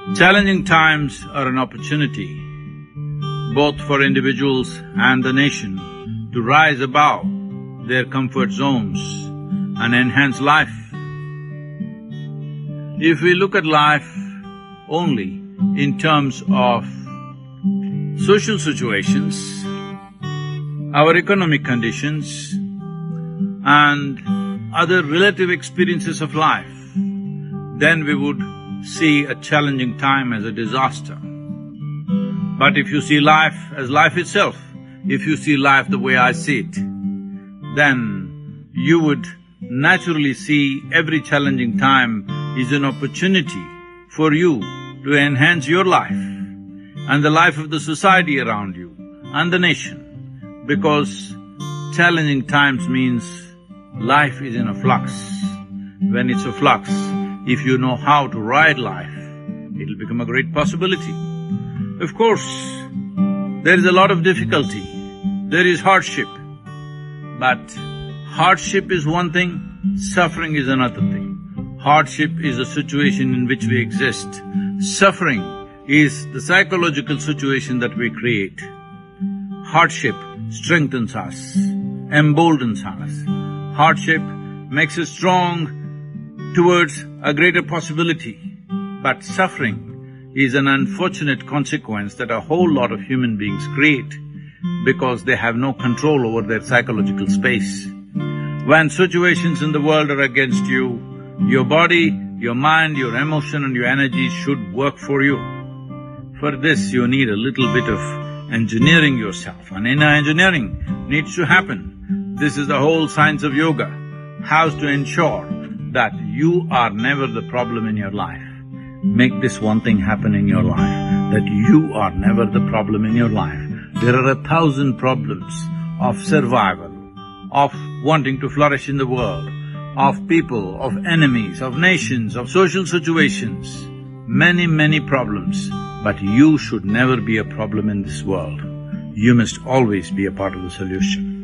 Challenging times are an opportunity, both for individuals and the nation, to rise above their comfort zones and enhance life. If we look at life only in terms of social situations, our economic conditions and other relative experiences of life, then we would see a challenging time as a disaster. But if you see life as life itself, if you see life the way I see it, then you would naturally see every challenging time is an opportunity for you to enhance your life and the life of the society around you and the nation, because challenging times means life is in a flux. When it's a flux, if you know how to ride life, it'll become a great possibility. Of course, there is a lot of difficulty, there is hardship, but hardship is one thing, suffering is another thing. Hardship is a situation in which we exist. Suffering is the psychological situation that we create. Hardship strengthens us, emboldens us. Hardship makes us strong towards a greater possibility. But suffering is an unfortunate consequence that a whole lot of human beings create because they have no control over their psychological space. When situations in the world are against you, your body, your mind, your emotion and your energy should work for you. For this, you need a little bit of engineering yourself, and inner engineering needs to happen. This is the whole science of yoga, how to ensure that you are never the problem in your life. Make this one thing happen in your life, that you are never the problem in your life. There are 1,000 problems of survival, of wanting to flourish in the world, of people, of enemies, of nations, of social situations, many problems, but you should never be a problem in this world. You must always be a part of the solution.